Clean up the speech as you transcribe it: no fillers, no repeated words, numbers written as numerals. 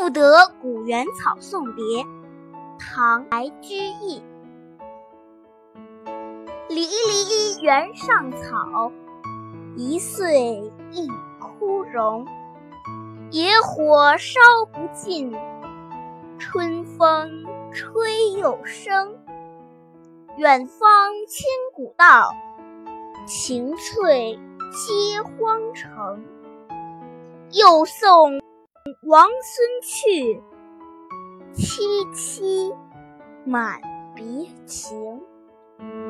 赋得古原草送别，唐·白居易。离离原上草，一岁一枯荣。野火烧不尽，春风吹又生。远方千古道，晴翠接荒城。又送王孙去，萋萋满别情。